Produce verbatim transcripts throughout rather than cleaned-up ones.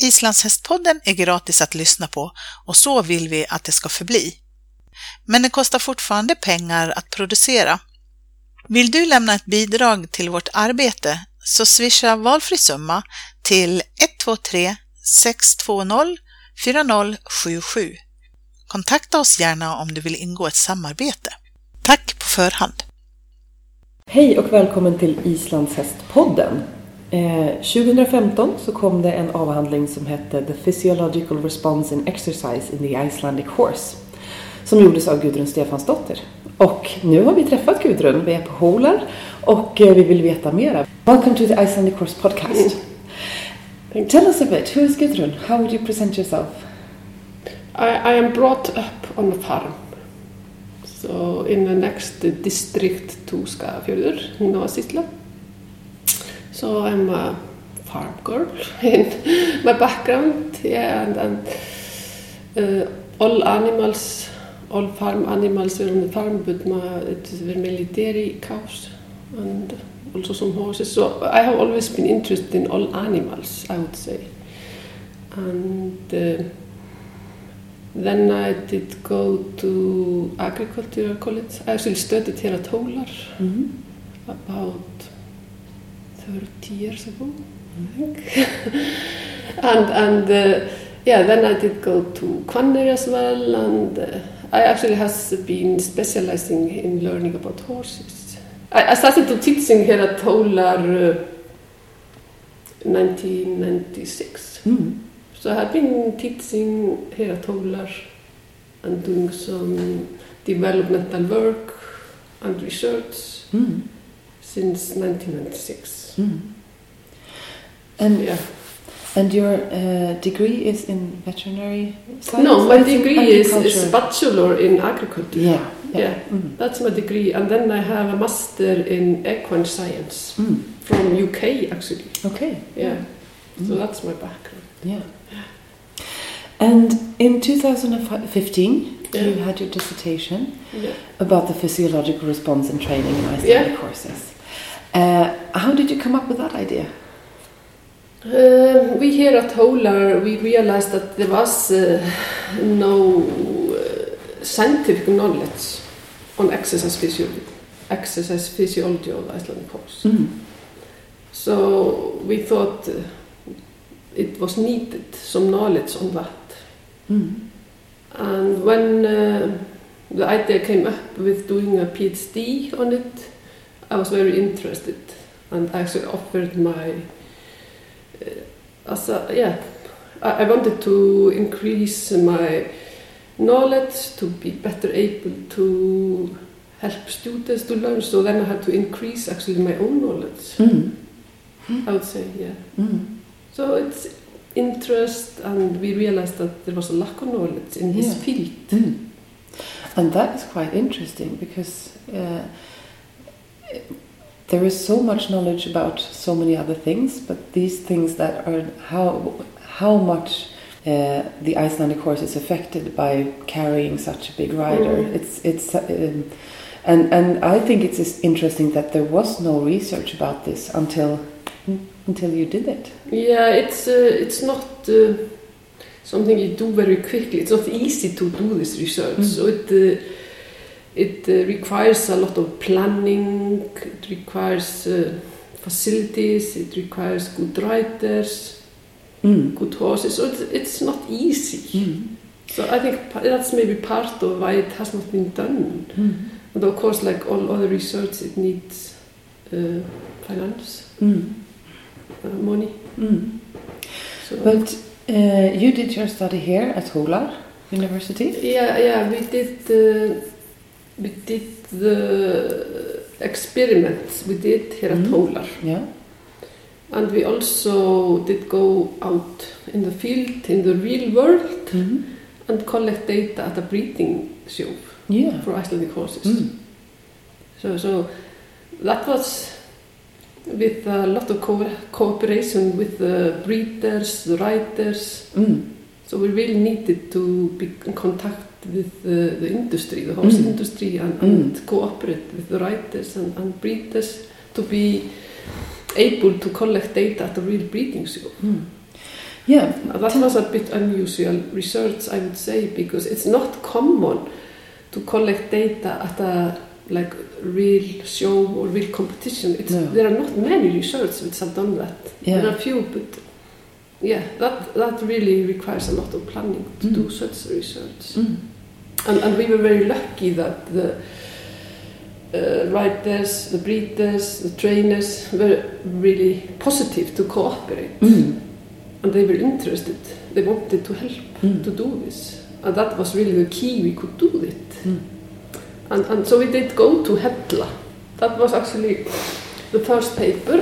Islandshästpodden är gratis att lyssna på och så vill vi att det ska förbli. Men det kostar fortfarande pengar att producera. Vill du lämna ett bidrag till vårt arbete så swisha valfri summa till ett två tre sex två noll fyra noll sju sju. Kontakta oss gärna om du vill ingå ett samarbete. Tack på förhand! Hej och välkommen till Islandshästpodden. Eh, tjugo femton så kom det en avhandling som hette The Physiological Response in Exercise in the Icelandic Horse, som gjordes av Gudrun Stefansdotter. Och nu har vi träffat Gudrun, vi är på Hólar och eh, vi vill veta mera. Welcome to the Icelandic Horse podcast. Mm. Tell us a bit, who is Gudrun? How would you present yourself? I, I am brought up on a farm. So in the next district to Skagafjörður, Nóasísla. So I'm a farm girl in my background, yeah, and, and uh, all animals, all farm animals were on the farm, but my, it were mainly dairy cows and also some horses. So I have always been interested in all animals, I would say. And uh, then I did go to agricultural college. I actually studied here at Hólar mm-hmm. about thirty years ago, I think. and and uh, yeah, then I did go to Hvanneyri as well, and uh, I actually has been specializing in learning about horses. I, I started to teaching here at Hólar uh, nineteen ninety-six. Mm. So I have been teaching here at Hólar and doing some developmental work and research mm. since nineteen ninety-six. Mm. And yeah. And your uh, degree is in veterinary science? No, my degree is, is bachelor in agriculture. Yeah, yeah. yeah mm. That's my degree, and then I have a master in equine science mm. from U K actually. Okay. Yeah. Mm. So that's my background. Yeah. And in two thousand fifteen, yeah. you had your dissertation yeah. about the physiological response in training in Icelandic yeah. horses. Uh, how did you come up with that idea? Uh, we here at Hólar, we realized that there was uh, no uh, scientific knowledge on exercise physiology, exercise physiology of the Icelandic horse. Mm. So we thought uh, it was needed some knowledge on that. Mm. And when uh, the idea came up with doing a PhD on it, I was very interested and actually offered my, uh, as a, yeah, I, I wanted to increase my knowledge to be better able to help students to learn, so then I had to increase actually my own knowledge, mm. I would say, yeah. Mm. So it's interest, and we realized that there was a lack of knowledge in this yeah. field. Mm. And that is quite interesting because uh, there is so much knowledge about so many other things, but these things that are how how much uh, the Icelandic horse is affected by carrying such a big rider. Mm. It's it's um, and and I think it's interesting that there was no research about this until until you did it. Yeah, it's uh, it's not uh, something you do very quickly. It's not easy to do this research. Mm. So it. Uh, It uh, requires a lot of planning, it requires uh, facilities, it requires good riders, mm. good horses, so it's, it's not easy. Mm. So I think that's maybe part of why it has not been done. Mm. And of course, like all other research, it needs uh, finance, mm. uh, money. Mm. So but uh, you did your study here at Hólar University? Yeah, yeah, we did... Uh, We did the experiments we did here mm. at Hólar. Yeah. And we also did go out in the field, in the real world, mm. and collect data at a breeding show yeah. for Icelandic horses. Mm. So, so that was with a lot of co- cooperation with the breeders, the riders. Mm. So we really needed to be in contact with the, the industry, the horse mm. industry, and, and mm. cooperate with the riders and, and breeders to be able to collect data at a real breeding show. Mm. Yeah. That was a bit unusual research, I would say, because it's not common to collect data at a like real show or real competition. It's, no. There are not many research which have done that. Yeah. There are few, but yeah, that that really requires a lot of planning to mm. do such research. Mm. And, and we were very lucky that the uh, writers, the breeders, the trainers were really positive to cooperate. Mm. And they were interested. They wanted to help mm. to do this. And that was really the key, we could do it. Mm. And, and so we did go to Hella. That was actually the first paper.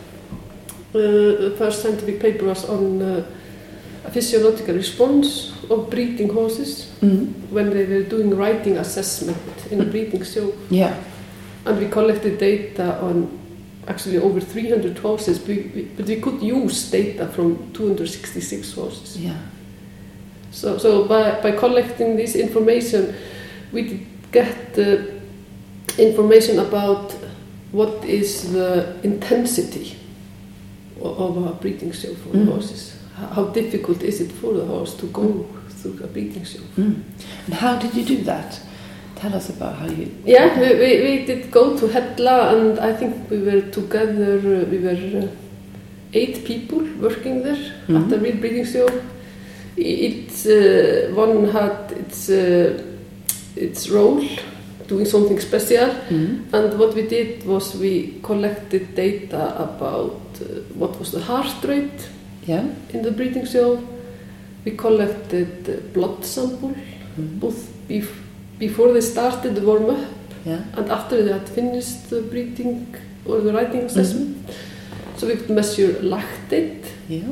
Uh, the first scientific paper was on uh, a physiological response of breeding horses mm. when they were doing riding assessment in a breeding show. Yeah. And we collected data on actually over three hundred horses, but we, but we could use data from two hundred sixty-six horses. Yeah. So, so by, by collecting this information, we did get uh, information about what is the intensity of, of a breeding show for mm. the horses. How difficult is it for the horse to go mm. through a breeding show? Mm. And how did you do that? Tell us about how you... Yeah, we, we, we did go to Hella, and I think we were together, uh, we were uh, eight people working there mm-hmm. at the real breeding show. It's, uh, one had its, uh, its role, doing something special, mm-hmm. and what we did was we collected data about uh, what was the heart rate yeah. in the breeding show. We collected uh, blood sample, mm-hmm. both bef- before they started the warm-up yeah. and after they had finished the breeding or the riding assessment. Mm-hmm. So we could measure lactate yeah.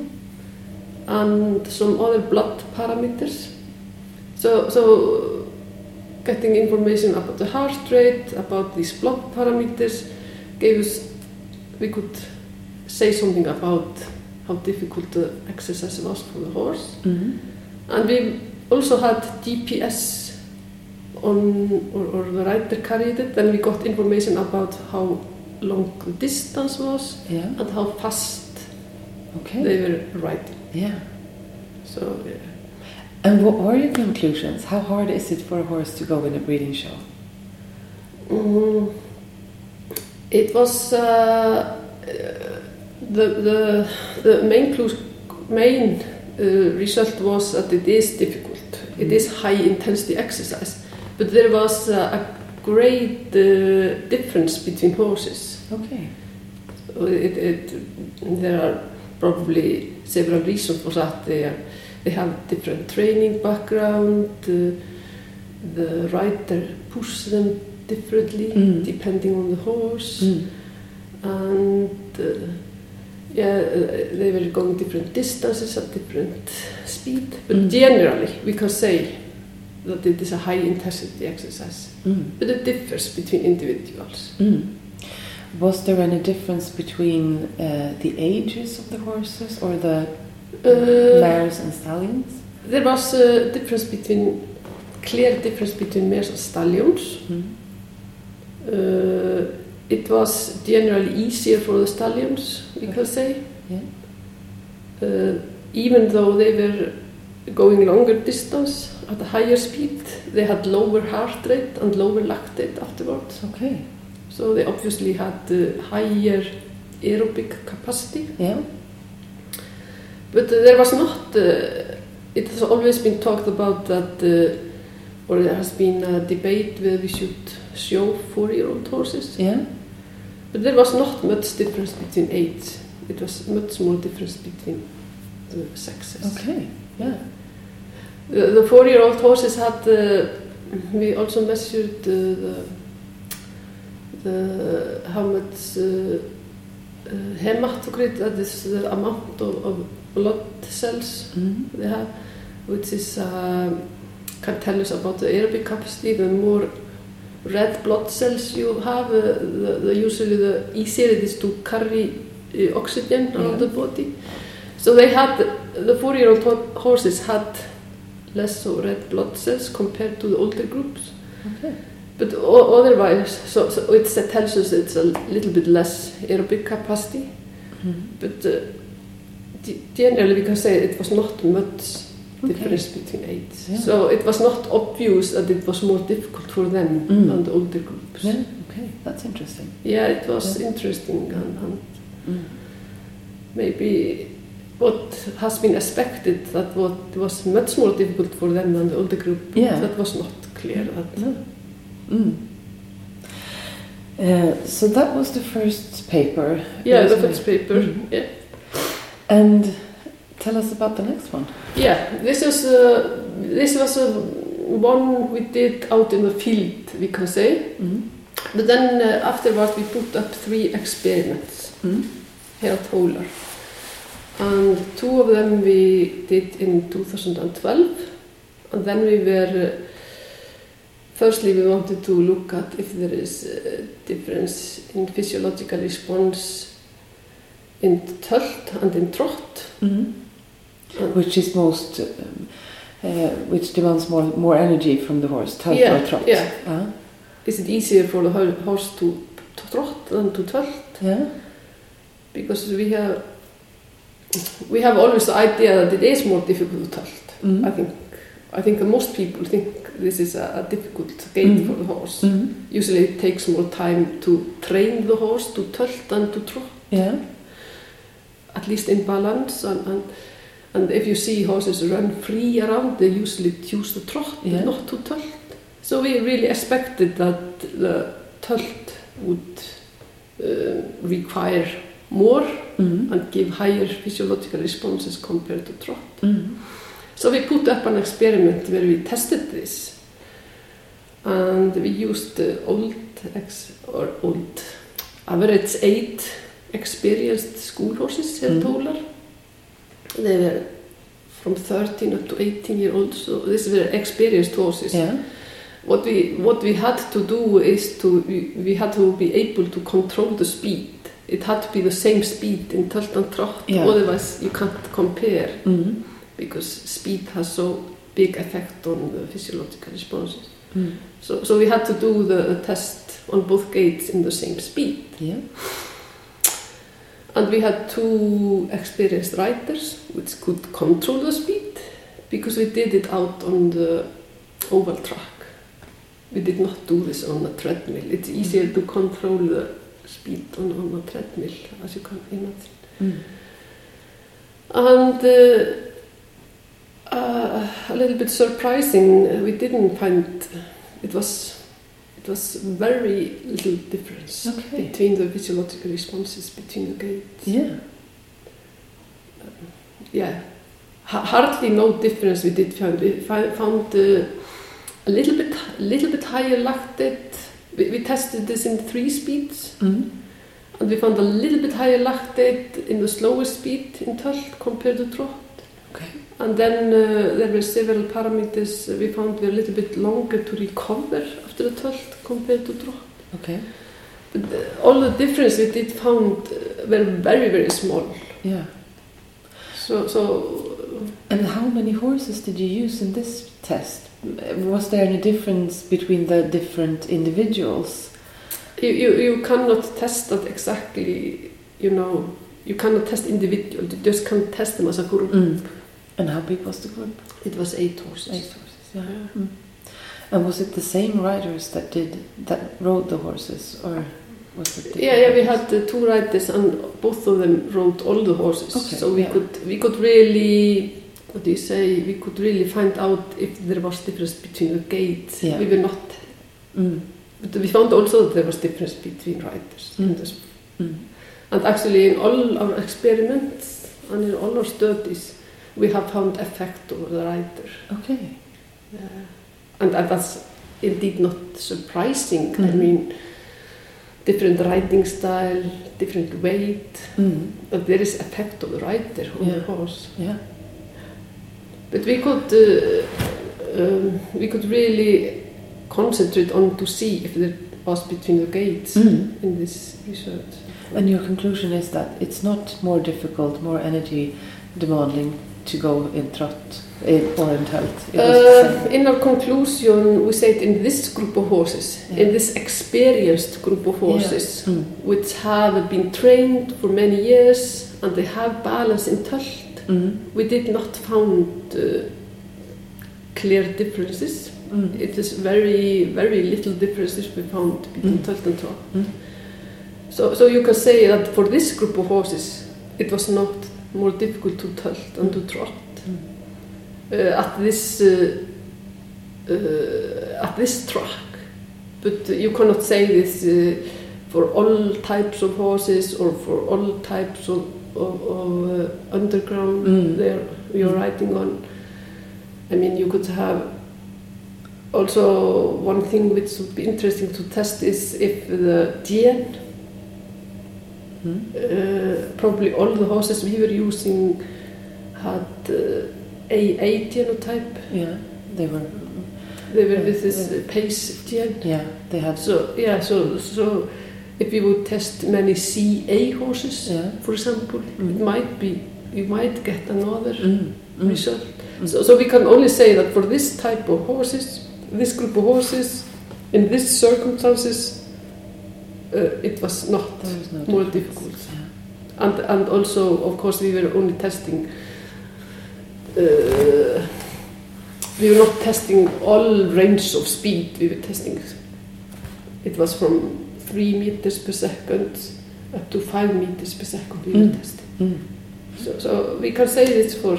and some other blood parameters. So, so getting information about the heart rate, about these blood parameters, gave us, we could say something about how difficult the exercise was for the horse. Mm-hmm. And we also had G P S on, or, or the rider carried it, and we got information about how long the distance was yeah. and how fast okay. they were riding. Yeah. So, yeah. And what were your conclusions? How hard is it for a horse to go in a breeding show? Mm, it was uh, the the the main clue, main uh, result was that it is difficult. Mm. It is high intensity exercise, but there was uh, a great uh, difference between horses. Okay. It, it, there are probably several reasons for that. They are, they have different training background. Uh, the rider pushes them differently mm. depending on the horse, mm. and uh, yeah, uh, they were going different distances at different speed. But mm. generally, we can say that it is a high intensity exercise. Mm. But it differs between individuals. Mm. Was there any difference between uh, the ages of the horses or the uh, mares and stallions? There was a difference between, clear difference between mares and stallions. Mm. Uh, it was generally easier for the stallions, we okay. can say. Yeah. Uh, even though they were going longer distance at a higher speed, they had lower heart rate and lower lactate afterwards. Okay. So they obviously had uh, higher aerobic capacity. Yeah. But uh, there was not, uh, it has always been talked about that, uh, or there has been a debate whether we should show four-year-old horses. Yeah. But there was not much difference between age. It was much more difference between the sexes. Okay, yeah. The, the four-year-old horses had, uh, we also measured uh, the The, how much uh, uh, hematocrit, that is the amount of, of blood cells mm-hmm. they have, which is uh, can tell us about the aerobic capacity. The more red blood cells you have, uh, the, the usually the easier it is to carry uh, oxygen around yeah. the body. So they had, the four-year-old ho- horses had less of red blood cells compared to the older groups. Okay. But o- otherwise, so, so it tells us it's a little bit less aerobic capacity. Mm-hmm. But uh, generally we can say it was not much Okay. difference between age. Yeah. So it was not obvious that it was more difficult for them Mm. than the older groups. Yeah, okay, that's interesting. Yeah, it was Yeah. interesting, and, and Mm. maybe what has been expected that what was much more difficult for them than the older group, Yeah. that was not clear. That No. Mm. Uh, so that was the first paper. yeah, the Yes, first paper. Mm. Yeah, And tell us about the next one. yeah. This was uh, this was a one we did out in the field, we can say. Mm. But then uh, afterwards we put up three experiments Mm. here at Hólar. And two of them we did in two thousand twelve. And then we were, uh, firstly we wanted to look at if there is a difference in physiological response in tölt and in trot. Mm. And Which is most, um, uh, which demands more more energy from the horse, tölt Yeah, or trot? yeah. Uh, is it easier for the ho- horse to, to trot than to tölt? yeah. Because we have we have always the idea that it is more difficult to tölt. Mm. I think I think that most people think this is a, a difficult gait Mm. for the horse. Mm. Usually it takes more time to train the horse to tölt than to trot, Yeah. at least in balance. And, and, and if you see horses run free around, they usually choose to trot, Yeah. not to tölt. So we really expected that the tölt would uh, require more Mm. and give higher physiological responses compared to trot. Mm. So we put up an experiment where we tested this, and we used uh, old ex or old average eight experienced school horses here at Mm. Hólar. They were from thirteen up to eighteen year olds, so these were experienced horses. Yeah. What we what we had to do is to we, we had to be able to control the speed. It had to be the same speed in tölt and trot, Yeah. otherwise you can't compare, Mm. because speed has so big effect on the physiological responses. Mm. So, so we had to do the test on both gaits in the same speed. Yeah. And we had two experienced riders which could control the speed, because we did it out on the oval track. We did not do this on a treadmill. It's easier to control the speed on, on a treadmill, as you can imagine. Mm. And uh, uh, a little bit surprising, uh, we didn't find it was it was very little difference Okay. between the physiological responses between the gaits. Yeah. Yeah, ha- hardly no difference we did find. We fi- found uh, a little bit a little bit higher lactate. We, we tested this in three speeds. Mm. And we found a little bit higher lactate in the slower speed in tölt compared to trot. Okay. And then uh, there were several parameters we found were a little bit longer to recover after the tölt compared to trot. Okay. But uh, all the difference we did found uh, were very, very small. Yeah. So, so And how many horses did you use in this test? Was there any difference between the different individuals? you, you, you cannot test that exactly, you know, you cannot test individual, you just can't test them as a group. Mm. And how big was the group? It was eight horses. Eight horses, yeah. Yeah. Mm. And was it the same riders that did that rode the horses, or was it? different Yeah, yeah, we riders? had uh, two riders, and both of them rode all the horses. Okay, so we yeah. could we could really, what do you say? We could really find out if there was difference between the gaits. Yeah. We were not, Mm. but we found also that there was difference between riders. Mm. in this. Mm. And actually, in all our experiments and in all our studies, we have found effect over the rider. Okay. Uh, and, and that's indeed not surprising. I Mhm. mean, different riding style, different weight, Mm. but there is effect of the rider on Yeah. the horse. Yeah. But we could uh, um, we could really concentrate on to see if there was between the gaits Mm. in this research. And your conclusion is that it's not more difficult, more energy demanding to go in trot in, or in Tölt? Uh, in our conclusion, we said in this group of horses, yeah. in this experienced group of horses, yeah. mm. which have been trained for many years and they have balance in Tölt, mm. we did not found uh, clear differences. Mm. It is very, very little differences we found between mm. Tölt and Trot. Mm. So, so you can say that for this group of horses, it was not more difficult to Tölt than to Trot. Mm. Uh, at this uh, uh, at this track, but uh, you cannot say this uh, for all types of horses or for all types of, of, of uh, underground mm. there you're mm. riding on. I mean, you could have also one thing which would be interesting to test is if the gen, mm. uh, probably all the horses we were using had uh, A, A genotype. Yeah, they were. They were yeah, with this uh, pace gen. Yeah, they had. So yeah, so so if you would test many C A horses, yeah. for example, mm. it might be you might get another mm. Mm. result. Mm. So so we can only say that for this type of horses, this group of horses, in these circumstances, uh, it was not was no more difficult. Yeah. And and also, of course, we were only testing. Uh, we were not testing all range of speed. We were testing. It was from three meters per second up to five meters per second. We mm. were testing. Mm. So, so we can say this for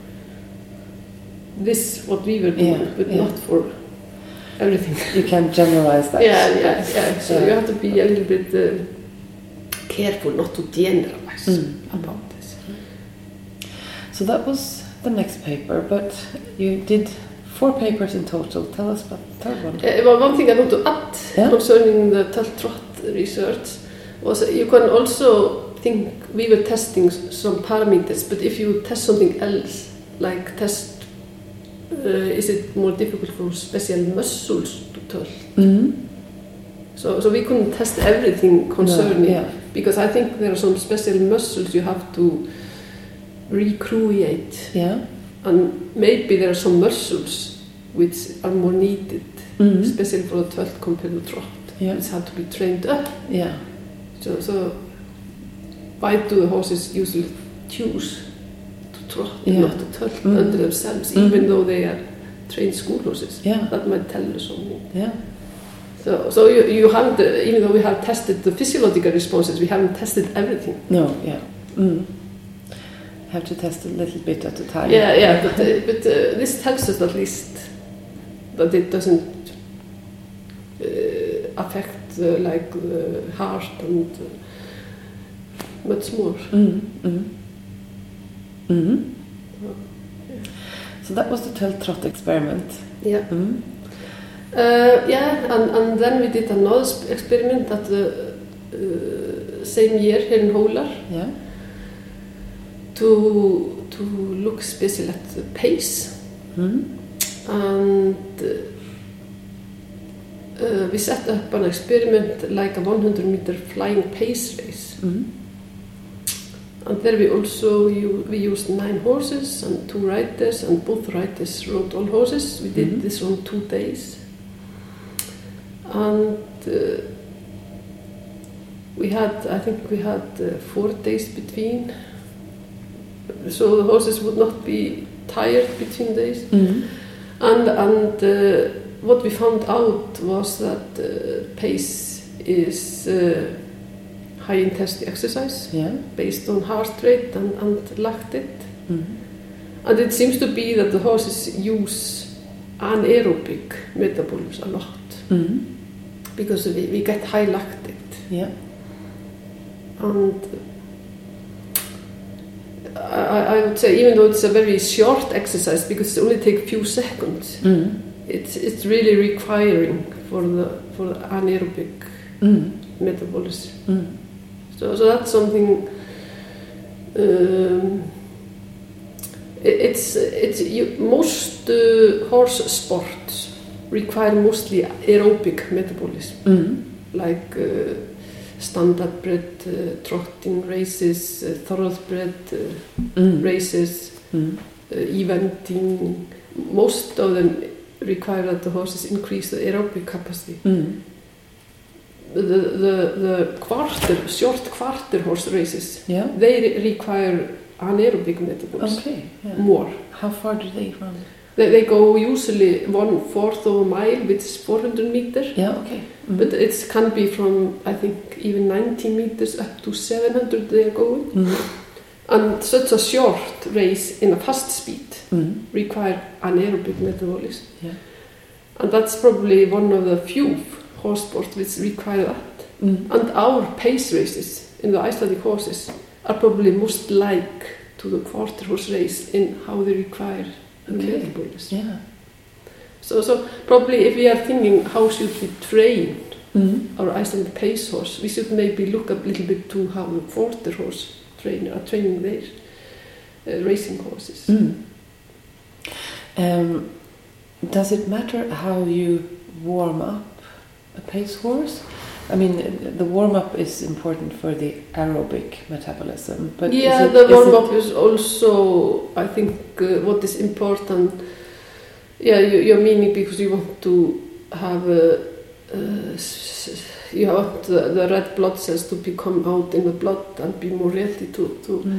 this what we were doing, yeah, but yeah. not for everything. You can generalize that. Yeah, yeah, yeah. So yeah. you have to be a little bit uh, careful not to generalize mm. about this. So that was the next paper, but you did four papers in total. Tell us about the third one. Uh, well, one thing I want to add yeah? concerning the Tölt-Trot research was uh, you can also think we were testing some parameters, but if you test something else, like test, uh, is it more difficult for special muscles to Tölt? Mm-hmm. So, so we couldn't test everything concerning, no, yeah. because I think there are some special muscles you have to recreate, yeah. and maybe there are some muscles which are more needed, mm-hmm. especially for the Tölt compared to Trot, yeah. which have to be trained up. Yeah. So, so why do the horses usually choose to Trot yeah. and not to Tölt mm-hmm. under themselves, mm-hmm. even though they are trained school horses? Yeah. That might tell you something. Yeah. So, so you, you haven't, uh, even though we have tested the physiological responses, we haven't tested everything. No, yeah. Mm. Have to test a little bit at a time. Yeah, yeah, but, uh, but uh, this tells us at least that it doesn't uh, affect uh, like the heart and uh, much more. Mm, mm. Mm-hmm. Oh, yeah. So that was the Tölt-Trot experiment. Yeah. Mm-hmm. Uh, yeah, and, and then we did another experiment at the uh, same year here in Hólar. Yeah. To to look especially at the pace, mm. and uh, uh, we set up an experiment like a one hundred meter flying pace race, mm. and there we also u- we used nine horses and two riders, and both riders rode all horses. We did mm-hmm. this on two days, and uh, we had I think we had uh, four days between. So the horses would not be tired between days. Mm-hmm. And, and uh, what we found out was that uh, pace is uh, high intensity exercise, yeah. based on heart rate and, and lactate. Mm-hmm. And it seems to be that the horses use anaerobic metabolism a lot, mm-hmm. because we, we get high lactate. Yeah. And I, I would say, even though it's a very short exercise, because it only takes a few seconds, mm. it's it's really requiring for the for the anaerobic mm. metabolism. Mm. So so that's something. Um, it, it's it's you, most uh, horse sports require mostly aerobic metabolism, mm. like. Uh, standardbred uh, trotting races, uh, thoroughbred uh, mm. races, mm. uh, eventing. Most of them require that the horses increase the aerobic capacity. Mm. The, the, the quarter, short quarter horse races, Yeah. they re- require anaerobic metabolism Okay. Yeah. more. How far do they run? They, they go usually one fourth of a mile, which is four hundred meters. Yeah. Okay. Mm. But it can be from, I think, even ninety meters up to seven hundred they are going. Mm. And such a short race in a fast speed Mm. require anaerobic metabolism. Yeah. And that's probably one of the few horse sports which require that. Mm. And our pace races in the Icelandic horses are probably most like to the quarter horse race in how they require Okay. metabolism. Yeah. So, so probably if we are thinking how should we train Mm. our Icelandic pace horse, we should maybe look a little bit to how the quarter horse trainer are training their uh, racing horses. Mm. Um, does it matter how you warm up a pace horse? I mean, the warm-up is important for the aerobic metabolism, but yeah, is it, the is warm-up it... is also, I think, uh, what is important. Yeah, you, you're meaning because you want to have a, uh, you want the, the red blood cells to become out in the blood and be more ready to. to Mm.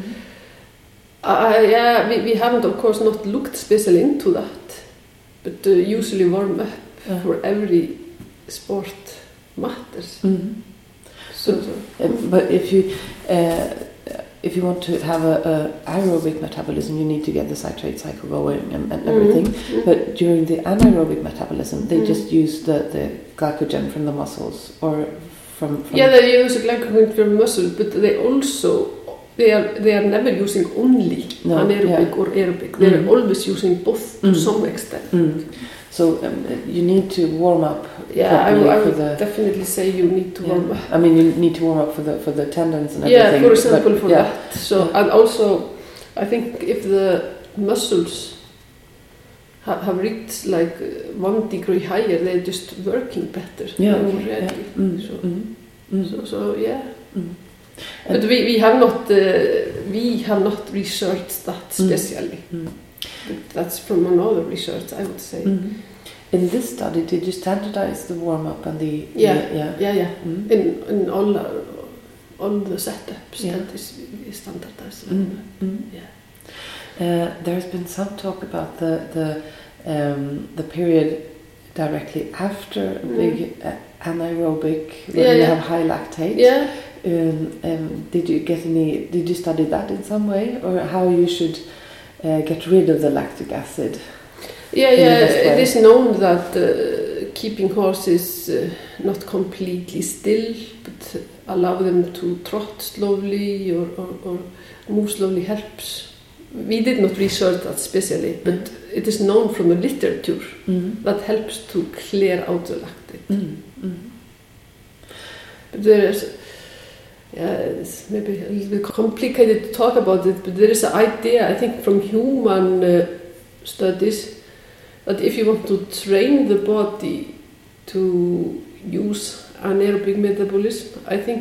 Uh, yeah, we, we haven't, of course, not looked specially into that, but uh, usually warm up Uh. for every sport matters. Mm. So, so. Uh, but if you uh, if you want to have a, a aerobic metabolism, you need to get the citrate cycle going and, and everything. Mm. But during the anaerobic metabolism, they Mm. just use the, the glycogen from the muscles or from, from Yeah, they use glycogen from muscle, but they also they are they are never using only No, anaerobic yeah. or aerobic. They are Mm. always using both to Mm. some extent. Mm. So um, you need to warm up. Yeah, I, properly I for would the, definitely say you need to yeah. warm up. I mean, you need to warm up for the for the tendons and Yeah, everything. for example, but, for yeah. that. So Yeah. and also, I think if the muscles ha- have reached like uh, one degree higher, they're just working better. Yeah, They're okay, ready. yeah. Mm, So, mm, mm, so, so yeah. mm. But we, we have not uh, we have not researched that Mm. specially. Mm. But that's from another research, I would say. Mm. In this study, did you standardize the warm up and the Yeah. the- yeah Yeah, yeah. Mm. In in all uh, all the setups Yeah. that is we standardized. Mm. Mm. Yeah. Uh, there's been some talk about the the um, the period directly after a Mm. big uh, anaerobic when Yeah, you yeah. have high lactate. Yeah. Um, um, did you get any? Did you study that in some way, or how you should uh, get rid of the lactic acid? Yeah, in the yeah. best way? It is known that uh, keeping horses uh, not completely still, but allow them to trot slowly or, or, or move slowly helps. We did not research that specially, but Mm. it is known from the literature Mm. that helps to clear out the lactate. Mm. Mm. But there is, yeah, it's maybe a little bit complicated to talk about it, but there is an idea, I think, from human uh, studies that if you want to train the body to use anaerobic metabolism, I think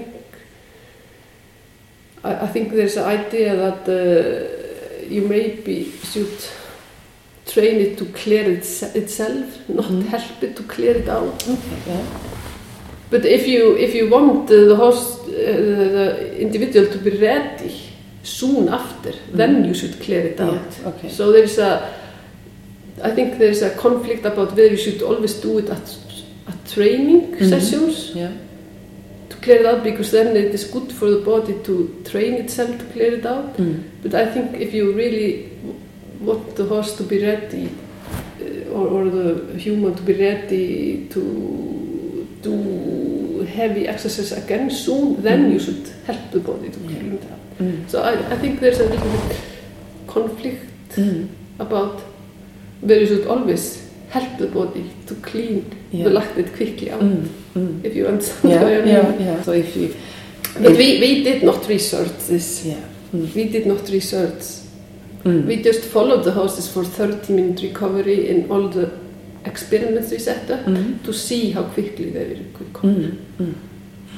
I, I think there's an idea that uh, you maybe should train it to clear it, itself, not Mm. help it to clear it out. Okay. Yeah. But if you if you want uh, the horse, uh, the individual to be ready soon after, Mm. then you should clear it out. Yeah. Okay. So there is a, I think there is a conflict about whether you should always do it at at training Mhm. sessions Yeah. to clear it out, because then it is good for the body to train itself to clear it out. Mm. But I think if you really w- want the horse to be ready, uh, or, or the human to be ready to do heavy exercise again soon, then Mm. you should help the body to Yeah. clean it out. Mm. So I, I think there's a little bit conflict Mm. about where you should always help the body to clean Yeah. the lactate quickly out, Mm. Mm. if you understand Yeah, what I mean. yeah, yeah. So if you, But we, we did not research this. yeah, mm. We did not research. Mm. We just followed the horses for thirty minute recovery in all the experiments we set up Mm. to see how quickly they will recover. Mm. Mm.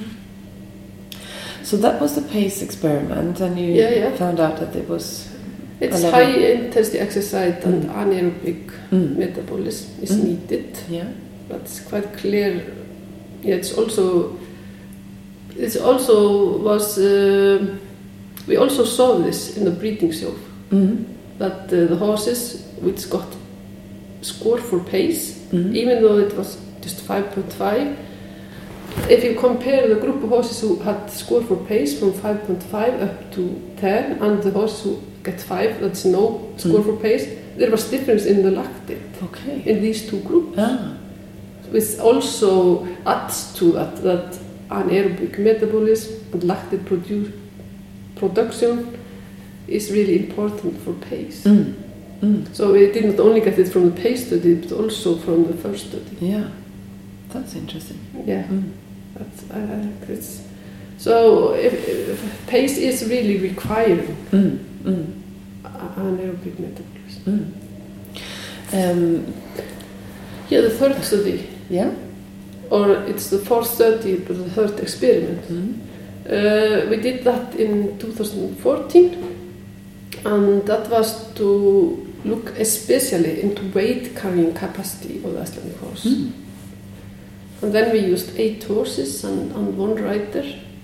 So that was the pace experiment, and you Yeah, yeah. found out that it was It's Eller- high intensity exercise and Mm. anaerobic Mm. metabolism is Mm. needed. Yeah. That's quite clear. Yeah, it's also it's also was uh, we also saw this in the breeding show Mm. that uh, the horses which got score for pace, Mm. even though it was just five point five. If you compare the group of horses who had score for pace from five point five up to ten and the horses who get five, that's no score Mm. for pace, there was difference in the lactate Okay. in these two groups. Ah. Which also adds to that, that anaerobic metabolism and lactate produ- production is really important for pace. Mm. Mm. So we did not only get it from the pace study, but also from the first study. Yeah. That's interesting. Yeah, Mm. that's, I I think it's so. If, if pace is really requiring Mm. Mm. a- anaerobic metabolism. Mm. Um, Yeah, the third study, yeah. or it's the fourth study, but the third experiment. Mm. Uh, we did that in two thousand fourteen, and that was to look especially into weight carrying capacity of the Icelandic horse. Mm. And then we used eight horses and, and one rider.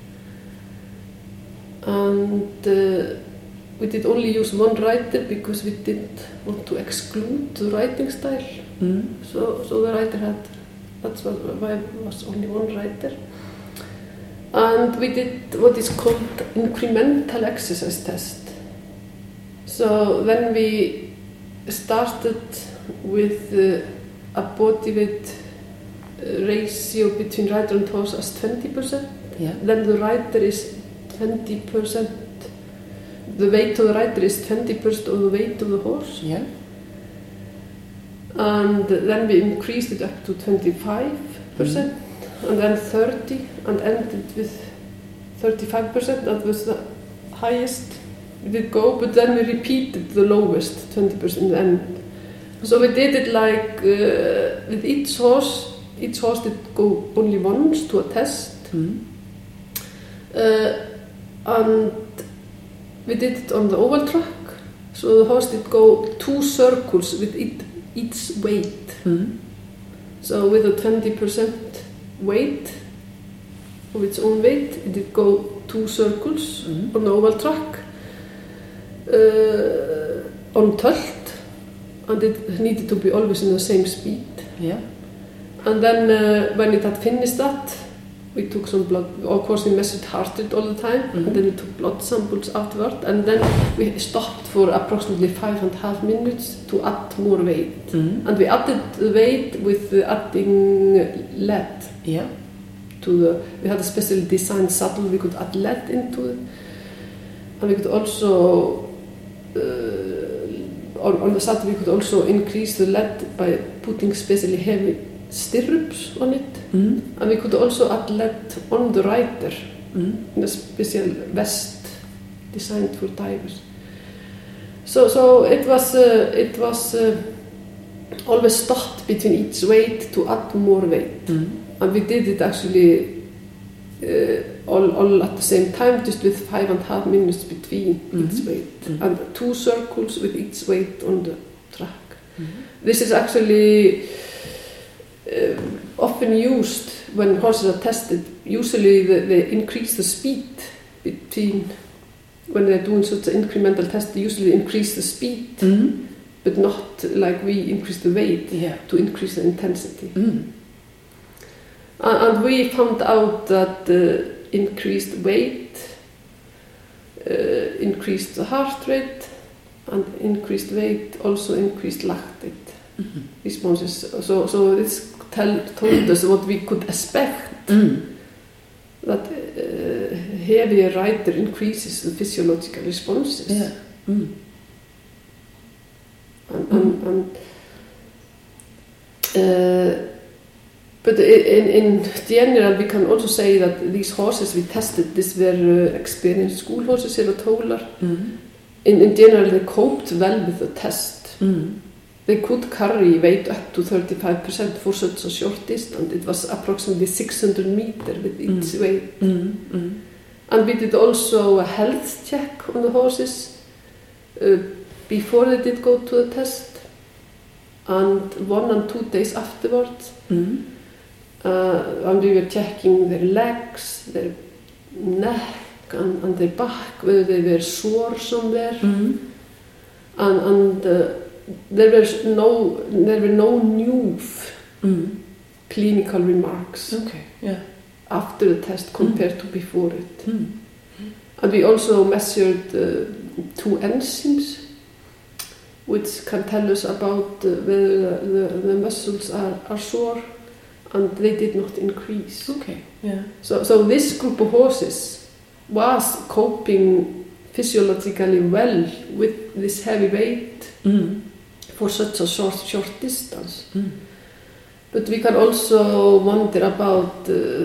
And uh, we did only use one rider because we didn't want to exclude the riding style. Mm. So, so the rider had, that's what, why it was only one rider. And we did what is called incremental exercise test. So then we started with uh, a body weight uh, ratio between rider and horse as twenty percent. Yeah. Then the rider is twenty percent. The weight of the rider is twenty percent of the weight of the horse. Yeah. And then we increased it up to twenty-five percent, and then thirty, and ended with thirty-five percent. That was the highest we did go, but then we repeated the lowest, twenty percent in the end. So we did it like uh, with each horse. Each horse did go only once to a test, Mm. uh, and we did it on the oval track. So the horse did go two circles with it, each weight. Mm. So with a twenty percent weight of its own weight, it did go two circles Mm. on the oval track, uh, on tölt, and it needed to be always in the same speed. Yeah. And then uh, when it had finished that, we took some blood. Of course, we measured heart rate all the time, Mhm. and then we took blood samples afterward, and then we stopped for approximately five and a half minutes to add more weight. Mm. And we added the weight with uh, adding lead Yeah. to the. We had a specially designed saddle. We could add lead into it, and we could also uh, on, on the saddle we could also increase the lead by putting specially heavy stirrups on it, Mm. and we could also add lead on the rider Mm. in a special vest designed for divers. So, so it was uh, it was uh, always stopped between each weight to add more weight, Mm. and we did it actually uh, all, all at the same time, just with five and a half minutes between Mhm. each weight, Mhm. and two circles with each weight on the track. Mm. This is actually uh, often used when horses are tested. Usually they, they increase the speed between, when they're doing such an incremental test, they usually increase the speed, Mm. but not like we increase the weight Yeah. to increase the intensity. Mm. Uh, and we found out that uh, increased weight uh, increased the heart rate, and increased weight also increased lactate Mhm. responses. So, so this tell, told us what we could expect, Mm. that uh, heavier rider increases the physiological responses. Yeah. Mm. And, and, and uh, but in, in general, we can also say that these horses we tested, these were uh, experienced school horses here at Hólar. Mm. In, in general, they coped well with the test. Mm. They could carry weight up to thirty-five percent for such a short distance. It was approximately six hundred meters with each Mm. weight. Mm. Mm. And we did also a health check on the horses, uh, before they did go to the test, and one and two days afterwards. Mm. Uh, and we were checking their legs, their neck, and, and their back, whether they were sore somewhere. Mm. And, and uh, there was no, there were no new Mm. clinical remarks Okay, yeah. after the test compared mm. to before it. Mm. And we also measured uh, two enzymes, which can tell us about uh, whether the, the, the muscles are, are sore, and they did not increase. Okay, yeah. So, so this group of horses was coping physiologically well with this heavy weight Mm. for such a short, short distance. Mm. But we can also wonder about uh,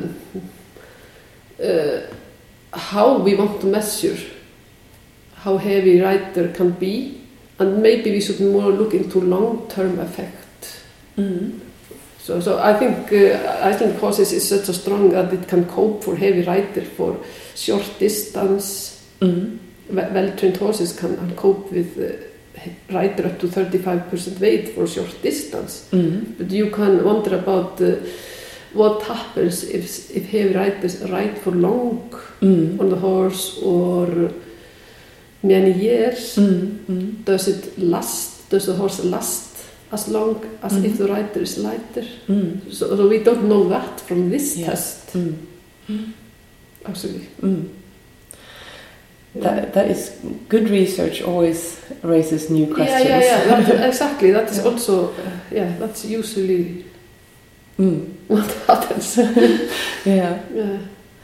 uh, how we want to measure how heavy rider can be, and maybe we should more look into long-term effect. Mm. So, so I think uh, Icelandic horses is such a strong that it can cope for heavy rider for short distance. Mm. Well-trained horses can, can cope with uh, rider up to thirty-five percent weight for short distance. Mm. But you can wonder about uh, what happens if, if heavy riders ride for long Mm. on the horse or many years. Mm. Mm. Does it last? Does the horse last as long as Mm. if the rider is lighter? Mm. So, so we don't know that from this Yeah. test. Mm. Mm. Actually. Mm. That, that is good research, always raises new questions. Yeah, yeah, yeah. That, exactly. That is Yeah. also, uh, yeah, that's usually Mm. what happens. Yeah. Yeah.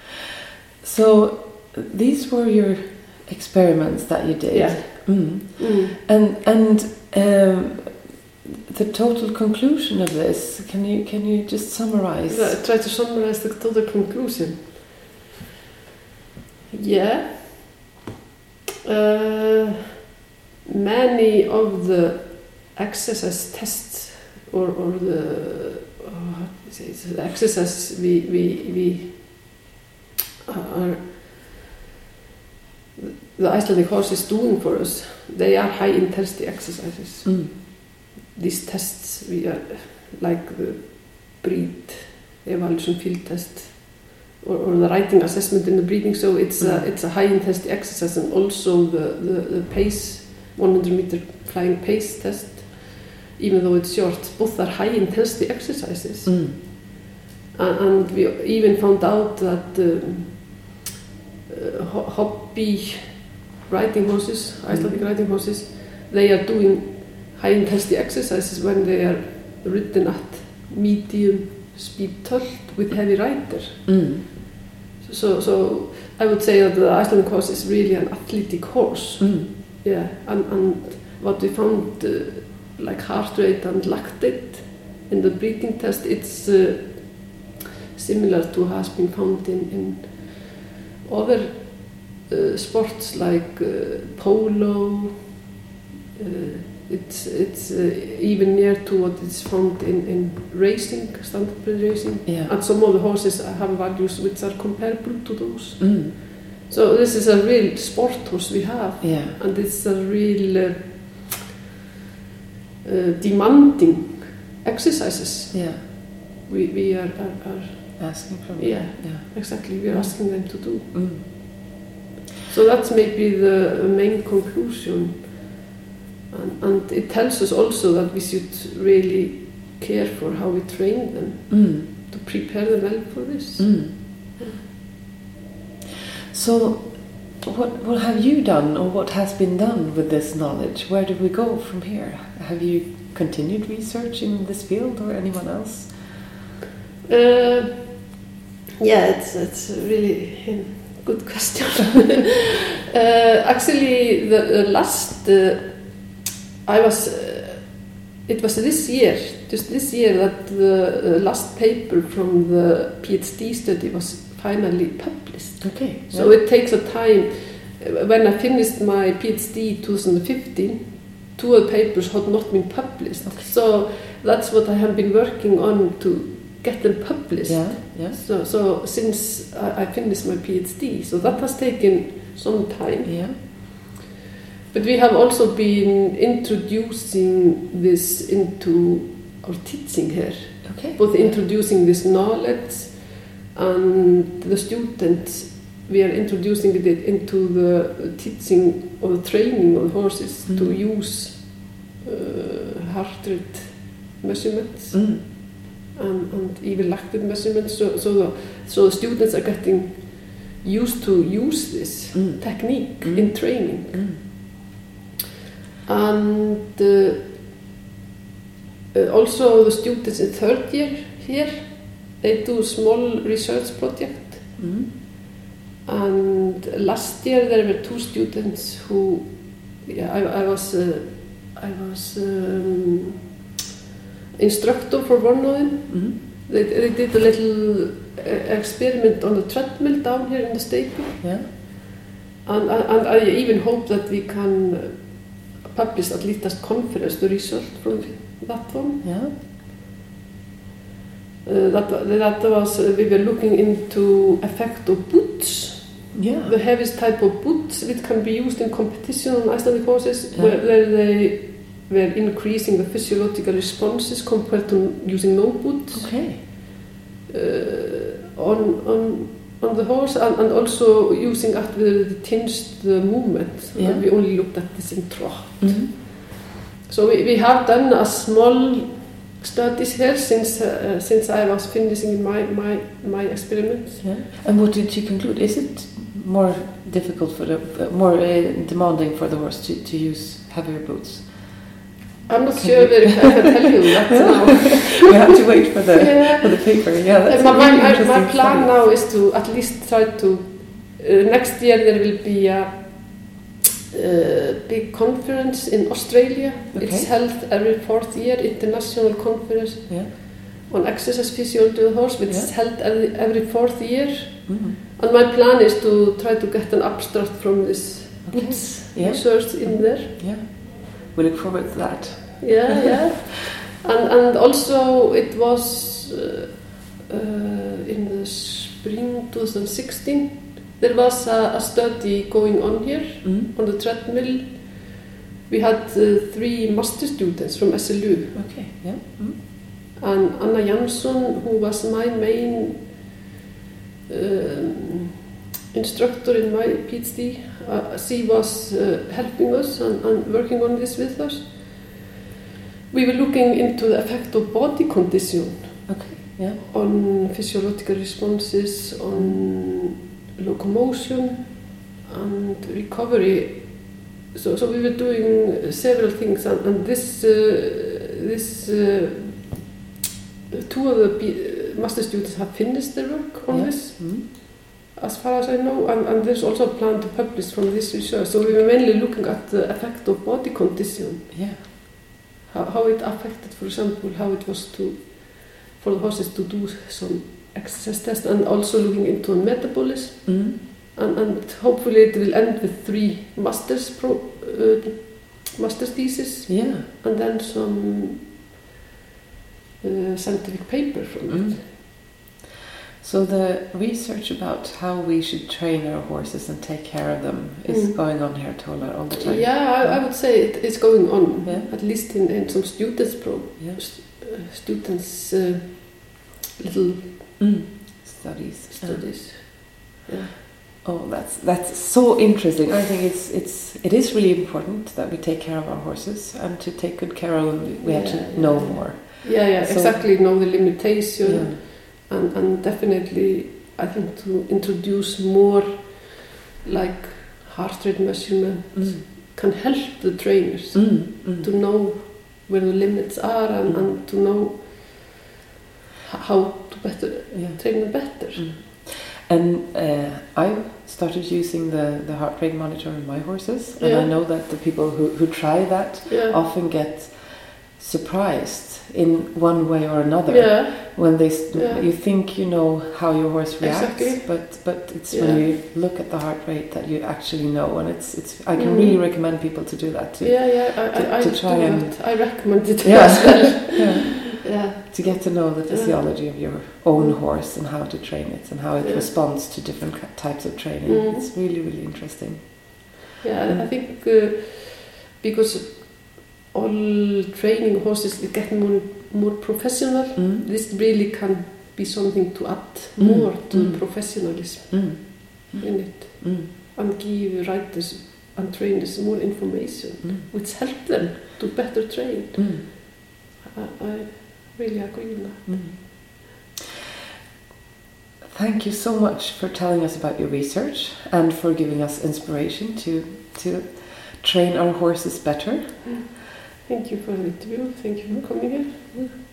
So these were your experiments that you did. Yeah. Mm. Mm. And and um, the total conclusion of this, can you can you just summarize? Yeah, try to summarize the total conclusion. Yeah. Uh, many of the exercise tests or, or the oh, how do you say it? The exercises we we we are the Icelandic horse is doing for us, they are high intensity exercises. Mm. These tests we are like the breed evaluation field test or, or the riding assessment in the breeding, so it's Mm. a, it's a high intensity exercise, and also the, the, the pace one hundred meter flying pace test, even though it's short, both are high intensity exercises. Mm. and, and we even found out that um, uh, ho- hobby riding horses, Icelandic Mm. riding horses, they are doing high intensity exercises when they are ridden at medium speed tult with heavy rider. Mm. So, so I would say that the Icelandic horse is really an athletic horse. Mm. Yeah, and, and what we found, uh, like heart rate and lactate in the breeding test, it's uh, similar to has been found in, in other uh, sports like uh, polo. Uh, it's it's uh, even near to what is found in, in racing, standard bred racing. Yeah. And some of the horses have values which are comparable to those. Mm. So this is a real sport horse we have, Yeah. and it's a real uh, uh, demanding exercises. Yeah. We we are, are, are Asking from yeah, Yeah. exactly. We are asking them to do. Mm. So that's maybe the main conclusion, and, and it tells us also that we should really care for how we train them Mm. to prepare them well for this. Mm. So, what what have you done, or what has been done with this knowledge? Where do we go from here? Have you continued research in this field, or anyone else? Uh, yeah, it's it's a really a good question. uh, actually, the, the last uh, I was uh, it was this year, just this year, that the uh, last paper from the PhD study was finally published. Okay. So yeah. it takes a time. When I finished my PhD twenty fifteen, two of the papers had not been published. Okay. So that's what I have been working on, to get them published. Yeah. Yeah. So, so since I, I finished my PhD, so that has taken some time. Yeah. But we have also been introducing this into our teaching here. Okay. Both introducing this knowledge and the students, we are introducing it into the teaching or the training of the horses mm. to use uh, heart rate measurements mm. and, and even lactate measurements. So, so, the, so the students are getting used to use this mm. technique mm. in training. Mm. And uh, uh, also the students in third year here, they do a small research project. Mm. And last year there were two students who, yeah, I, I was, uh, I was um, instructor for one of them. Mm. They, they did a little uh, experiment on the treadmill down here in the stable. Yeah. And, and I even hope that we can publish at least as conference the result from that one. Yeah. Uh, that, that was, uh, we were looking into effect of boots. Yeah. The heaviest type of boots which can be used in competition on Icelandic horses, yeah. where, where they were increasing the physiological responses compared to using no boots. Okay. Uh, on, on, on the horse, and, and also using it with the tinged the movement. Yeah. And we only looked at this in trot. Mm-hmm. So we, we have done a small studies here since uh, since I was finishing my my my experiments. Yeah. And what did you conclude? Is it more difficult for the uh, more uh, demanding for the horse to, to use heavier boots? I'm not sure if I can tell you that now. We have to wait for the yeah. for the paper. Yeah, that's my, really my, interesting my plan study. now is to at least try to. Uh, next year there will be a uh, big conference in Australia. Okay. It's held every fourth year, international conference yeah. on exercise physiology of the horse, which yeah. is held every, every fourth year. Mm-hmm. And my plan is to try to get an abstract from this okay. boots yeah. research in there. Yeah. We look forward to that. Yeah, yeah. And and also it was uh, uh, in the spring twenty sixteen. There was a, a study going on here mm-hmm. on the treadmill. We had uh, three master students from S L U. Okay. Yeah. Mm-hmm. And Anna Jansson, who was my main um, instructor in my PhD, uh, she was uh, helping us and, and working on this with us. We were looking into the effect of body condition okay. yeah. on physiological responses, on locomotion and recovery. So, so we were doing several things, and, and this, uh, this uh, two of the P- master students have finished their work on yeah. this. Mm-hmm. As far as I know, and, and there's also a plan to publish from this research. So we were mainly looking at the effect of body condition. Yeah. How, how it affected, for example, how it was to for the horses to do some exercise test, and also looking into metabolism. Mm-hmm. And, and hopefully it will end with three masters pro, uh, master's thesis. Yeah. And then some uh, scientific paper from mm-hmm. it. So the research about how we should train our horses and take care of them is mm. going on here, Tola, all the time? Yeah, I, I would say it is going on, yeah. at least in, in some students' pro, yeah. st- uh, students' uh, little mm. studies. Studies. Yeah. Yeah. Oh, that's that's so interesting. I think it's it's it is really important that we take care of our horses, and to take good care of them, we yeah, have to yeah. know more. Yeah, yeah, so, exactly. Know the limitation. Yeah. And, and definitely, I think to introduce more, like heart rate measurement, mm. can help the trainers mm. Mm. to know where the limits are and, mm. and to know how to better yeah. train them better. Mm. And uh, I've started using the, the heart rate monitor on my horses, and yeah. I know that the people who, who try that yeah. often get surprised in one way or another yeah. when they st- yeah. you think you know how your horse reacts, exactly. but but it's yeah. when you look at the heart rate that you actually know, and it's it's I can mm. really recommend people to do that too. Yeah, yeah, I, to, I, to I try do and that. I recommend it yeah. as well. yeah. yeah, to get to know the physiology yeah. of your own horse and how to train it and how it yeah. responds to different types of training. Mm. It's really really interesting. Yeah, mm. I think uh, because all training horses is getting more more professional. Mm. This really can be something to add mm. more to mm. professionalism mm. in it mm. and give riders and trainers more information, mm. which help them to better train. Mm. I, I really agree with that. Mm. Thank you so much for telling us about your research and for giving us inspiration to to train our horses better. Mm. Thank you for the interview. Thank you for coming here. Mm.